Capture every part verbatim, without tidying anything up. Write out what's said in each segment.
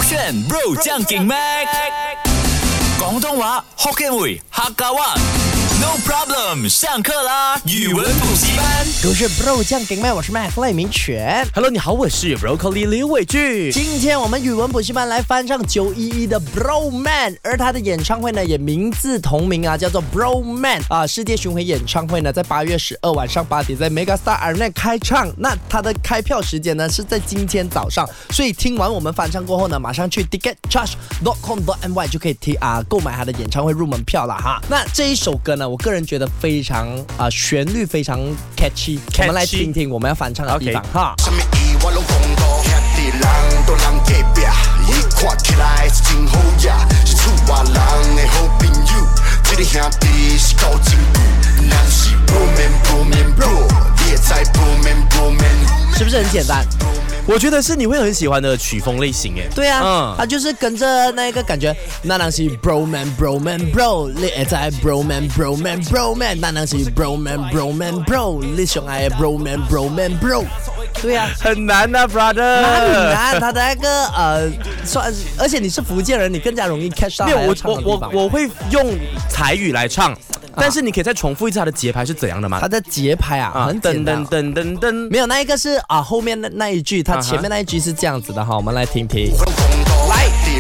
选 Bro 将劲 Mac， 广东话 Hokkien 语客家话。No problem， 上课啦！语文补习班， 都是 Bro 酱给麦，我是Mac 赖明全。 Hello， 你好，我是 Broccoli 刘伟俊。 今天我们语文补习班来翻唱九一一的 Bro Man， 而他的演唱会呢也名字同名啊，叫做 Bro Man 啊。世界巡回演唱会呢在八月十二晚上八点在 Megastar Arena 开唱。那他的开票时间呢是在今天早上，所以听完我们翻唱过后呢，马上去 ticket charge dot com dot my 就可以提啊购买他的演唱会入门票了哈。那这一首歌呢，我个人觉得非常啊、呃、旋律非常 catchy，, catchy 我们来听听我们要翻唱的地方、okay. 哈。是不是很简单？ 我觉得是你会很喜欢的曲风类型耶。 对啊，嗯，他就是跟着那个感觉，那当是 Bro Man Bro Man Bro， 你也在 Bro Man Bro Man Bro Man， 那当是 Bro Man Bro Man Bro， 你上爱 Bro Man Bro Man Bro。对啊， 很难啊 ，brother。 哪里难？他的那个呃，算，而且你是福建人，你更加容易 catch 到。 没有，我我我我会用台语来唱。但是你可以再重复一次它的节拍是怎样的吗？ 它的节拍啊，啊很简单，噔噔噔噔，没有那一个是啊后面的那一句，它前面那一句是这样子的哈，我们来听听。来，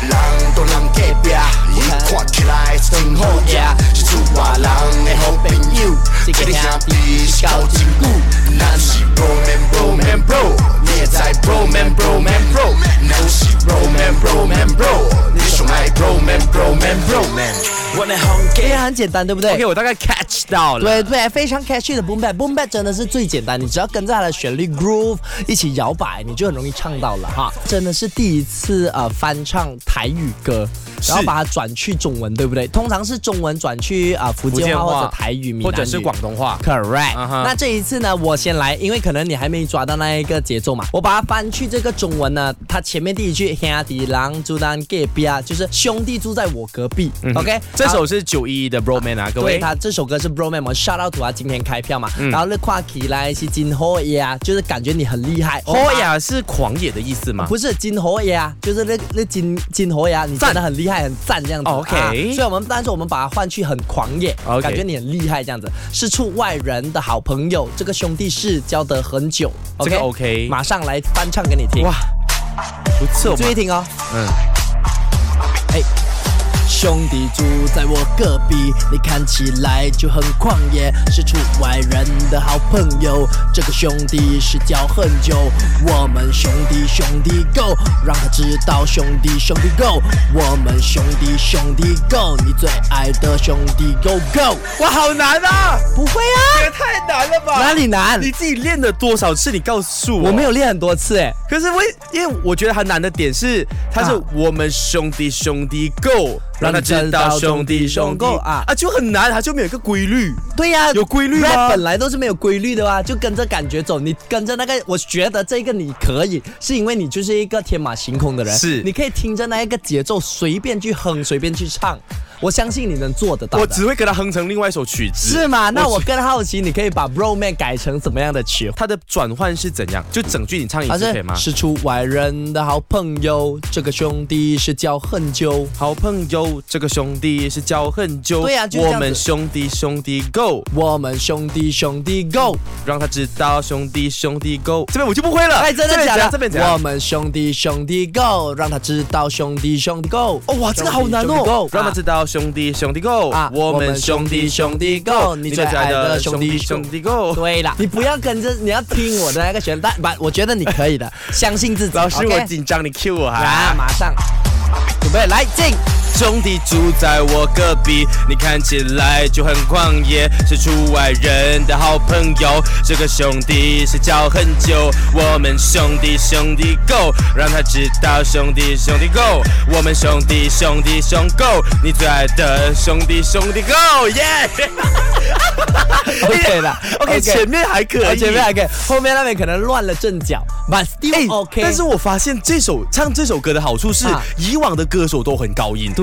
看起来真好呀，是出外人的好朋友，这个兄弟是交真久，咱是 Bro Man Bro Man Bro， 你也在 Bro Man Bro Man Bro， 咱是 Bro Man Bro Man Bro， 你上爱 Bro Man Bro Man Bro Man。也很简单，对不对 ？OK， 我大概 catch 到了。 对对，非常 catchy 的 boom bap，boom bap 真的是最简单，你只要跟着它的旋律 groove 一起摇摆，你就很容易唱到了哈。真的是第一次呃翻唱台语歌，然后把它转去中文，对不对？通常是中文转去啊、呃、福建话或者台语、闽南语或者是广东话。 Correct、uh-huh。那这一次呢，我先来，因为可能你还没抓到那一个节奏嘛，我把它翻去这个中文呢，它前面第一句兄弟人住咱隔壁啊，就是兄弟住在我隔壁。嗯、OK， 这首是九一一的 Bro Man 啊，各位。 对，他这首歌是 Bro Man， 我 shout out to 他今天开票嘛，嗯、然后你看起来是真好野啊，就是感觉你很厉害。 好野是狂野的意思吗？ 不是，真好野啊，就是那那真真好野，你真的很厉害，很赞这样子。 OK，、 啊、所以我们但是我们把它换去很狂野， okay. 感觉你很厉害这样子。是出外人的好朋友，这个兄弟是交得很久。 这个 OK， 马上来翻唱给你听。 哇，不错， 注意听哦。 嗯， 哎。兄弟住在我隔壁，你看起来就很狂野，是出外人的好朋友。这个兄弟是交很久，我们兄弟兄弟 go， 让他知道兄弟兄弟 go， 我们兄弟兄弟 go， 你最爱的兄弟 go go。 哇，好难啊！ 不会啊， 这也太难了吧？ 哪里难？ 你自己练了多少次？你告诉我。 我没有练很多次哎， 可是我因为我觉得很难的点是，它是我们兄弟兄弟 go。让他知道兄弟兄弟啊啊就很难，他就没有一个规律。 对呀、啊， 有规律吗 ？rap 本来都是没有规律的啊，就跟着感觉走。你跟着那个，我觉得这个你可以，是因为你就是一个天马行空的人， 是你可以听着那一个节奏随便去哼，随便去唱。我相信你能做得到的。 我只会给他哼成另外一首曲子， 是吗？那我更好奇，你可以把 Bro Man 改成怎么样的曲？ 它的转换是怎样？就整句你唱一次可以吗？ 是出外人的好朋友，这个兄弟是交很久。 好朋友，这个兄弟是交很久。 对啊，就这样子。 我们兄弟兄弟 go， 我们兄弟兄弟 go， 让他知道兄弟兄弟 go。这边我就不会了。 哎，真的假的？ 这边怎样？ 我们兄弟兄弟 go， 让他知道兄弟兄弟 go。 哦，哇，这个好难哦。让他知道兄弟兄弟 go。啊， 我们兄弟兄弟 go， 你最爱的兄弟兄弟 go。对了，你不要跟着，你要听我的那个旋律，但不，我觉得你可以的，相信自己。 老师， okay? 我紧张，你 cue 我哈。 啊，马上，准备来进。 兄弟住在我隔壁，你看起来就很狂野，是出外人的好朋友。这个兄弟是交很久，我们兄弟兄弟 go， 让他知道兄弟兄弟 go， 我们兄弟兄弟兄 go， 你最爱的兄弟兄弟 go， 耶、yeah! ！OK 了 ，OK， 前面还可以， 前面还可以，后面那边可能乱了阵脚 ，but still OK、欸。 但是我发现这首唱这首歌的好处是，啊、以往的歌手都很高音。 对。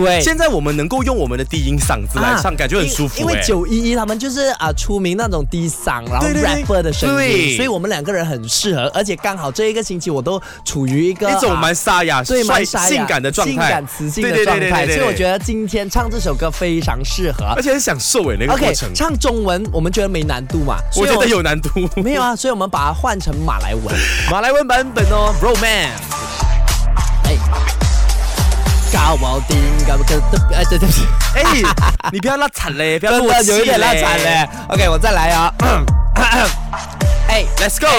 对， 现在我们能够用我们的低音嗓子来唱，啊、感觉很舒服、欸。 因为九一一他们就是啊、呃、出名那种低嗓，然后 rapper 的声音，所以我们两个人很适合，而且刚好这一个星期我都处于一个一种蛮沙哑、 对蛮沙哑、 性感的状态， 性感磁性的状态，所以我觉得今天唱这首歌非常适合， 而且很享受诶那个过程。 Okay, 唱中文我们觉得没难度嘛？ 我觉得有难度。 没有啊，所以我们把它换成马来文， 马来文版本哦 ，Broman。 哎。高我丁高不可的哎对对不起哎你不要拉惨嘞，不要落有一点拉惨嘞。OK 我再来啊，哎 Let's go。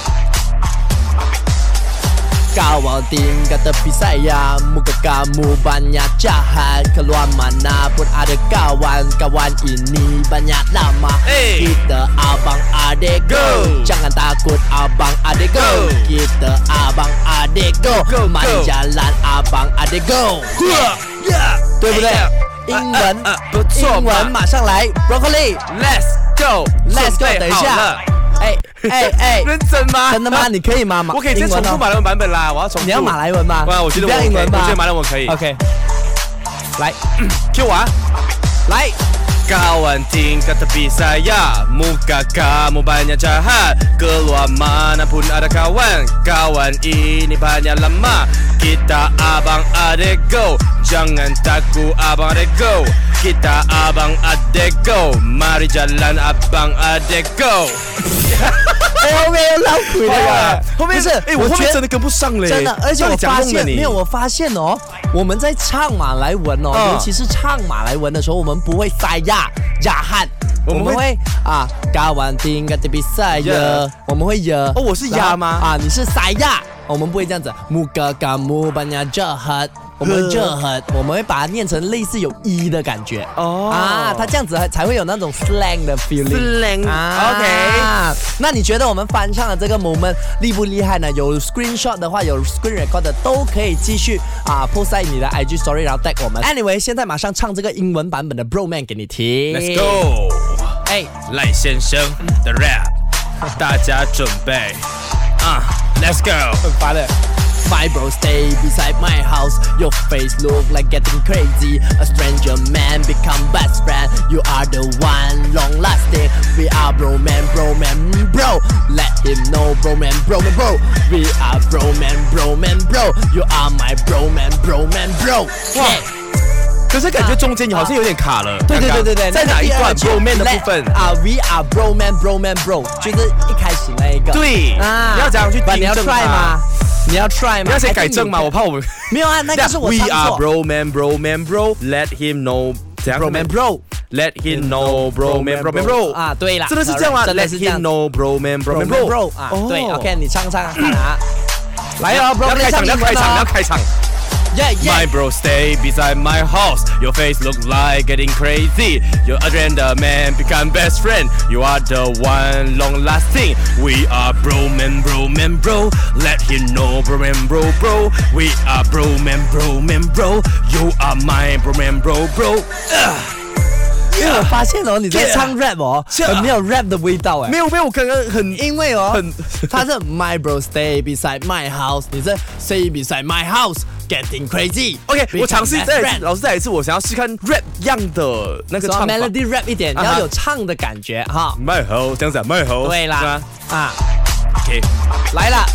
Kawan tinggal tepi saya, muka kamu banyak jahat. Keluar mana pun ada kawan, kawan ini banyak lama. Hey. Kita abang adik go, jangan takut abang adik go. Kita abang adik go, go, go. Mari jalan abang adik go. Yeah. 对不对？英文不错，英文马上来 ，Broccoli。Let's go，Let's go。等一下。哎哎哎， 认真吗？ 真的吗？你可以吗？ 我可以直接重复马来文版本啦，我要重复。 你要马来文吗？ 哇，我觉得我不要英文吗？ 我觉得马来文可以。 OK， 来 ，Q 我， 来。 Kawan tingkat tepi saya, muka kamu banyak jahat. Keluar mana pun ada kawan, kawan ini banyak lama. Kita abang adik go, jangan takut abang adik go. Kita abang adik go, mari jalan abang adik go. 哎，后面又老鬼了， 后面不是， 哎，我后面真的跟不上嘞， 真的，而且我发现没有，我发现哦，我们在唱马来文哦，尤其是唱马来文的时候，我们不会塞呀呀喊，我们会啊，高完听个 tepi saya，我们会呀， 哦，我是呀吗？ 啊，你是塞呀，我们不会这样子，muka kamu banyak jahat。我们就很，我们会把它念成类似有一的感觉哦啊，它这样子才会有那种 slang 的 feeling。slang 啊 ，OK。 那你觉得我们翻唱的这个 moment 厉不厉害呢？有 screenshot 的话，有 screen record 的都可以继续啊 post 在你的 I G story， 然后 tag 我们。Anyway， 现在马上唱这个英文版本的 Broman 给你听。 Let's go。 哎， 赖先生的 rap， 大家准备啊 ，Let's go。 很烦的。My bro stay beside my house. Your face look like getting crazy. A stranger man become best friend. You are the one long lasting. We are bro man, bro man, bro. Let him know, bro man, bro man, bro. We are bro man, bro man, bro. You are my bro man, bro man, bro. 哇！ 可是感觉中间你好像有点卡了。 对对对对对， 在哪一段 bro man 的部分啊 ？We are bro man, bro man, bro， 就是一开始那一个。 对啊，你要怎样去你要 try 吗？你要 try 吗？ 你要先改正吗？我怕我们没有啊，那个是我唱错。 We are bro man, bro man, bro. Let him know, bro man, bro. Let him know, bro man, bro man, bro. 啊，对啦， 真的是这样吗？ 真的是这样。 Let him know, bro man, bro man, bro. 啊，对 ，OK， 你唱唱看啊。来哦 ，bro， 要开场，要开场，要开场。 Yeah, yeah. My bro stay beside my house. Your face look like getting crazy. Your agenda man become best friend. You are the one long lasting. We are bro man, bro man, bro. Let him know, bro man, bro, bro. We are bro man, bro man, bro. You are my bro man, bro, bro. Uh. 因为我发现哦，你在唱 rap 哦，很没有 rap 的味道哎。 没有没有，我刚刚很因为哦， 很他是 My bro stay beside my house， 你是 stay beside my house。Getting crazy. OK， 我尝试再来，老师再来一次，我想要试看 rap 样的那个唱法 ，melody rap 一点，你要有唱的感觉哈。 My house 这样子 ，My house。 对啦，啊 ，OK， 来了。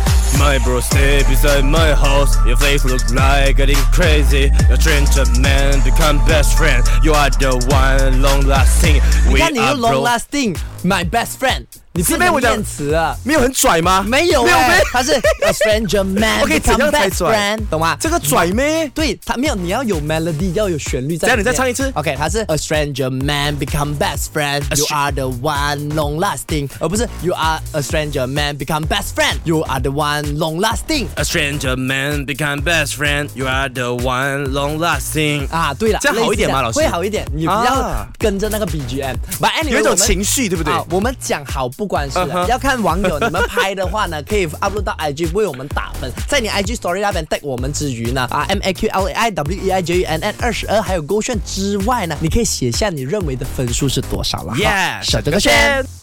My bro stay beside my house. Your face look like getting crazy. Your stranger man become best friend. You are the one long lasting. 你看你用 long lasting, my best friend。你是变念词啊？ 没有很拽吗？ 没有哎，他是 a stranger man become best friend， 懂吗？ 这个拽咩？ 对，他没有，你要有 melody， 要有旋律在。 这样你再唱一次。 OK， 他是 a stranger man become best friend， You are the one long lasting， 而不是 You are a stranger man become best friend，You are the one long lasting。 A stranger man become best friend，You are the one long lasting。 啊，对了， 这样好一点吗？老师会好一点，你不要跟着那个 B G M，But anyway， 有一种情绪，对不对？ 我们讲好不关事，要看网友你们拍的话呢，可以 upload 到 I G 为我们打分，在你 I G story 那边 tag 我们之余呢，啊 M A Q L A I W E I J U N N 二十二还有勾选之外呢，你可以写下你认为的分数是多少了。 Yeah， 手这个圈。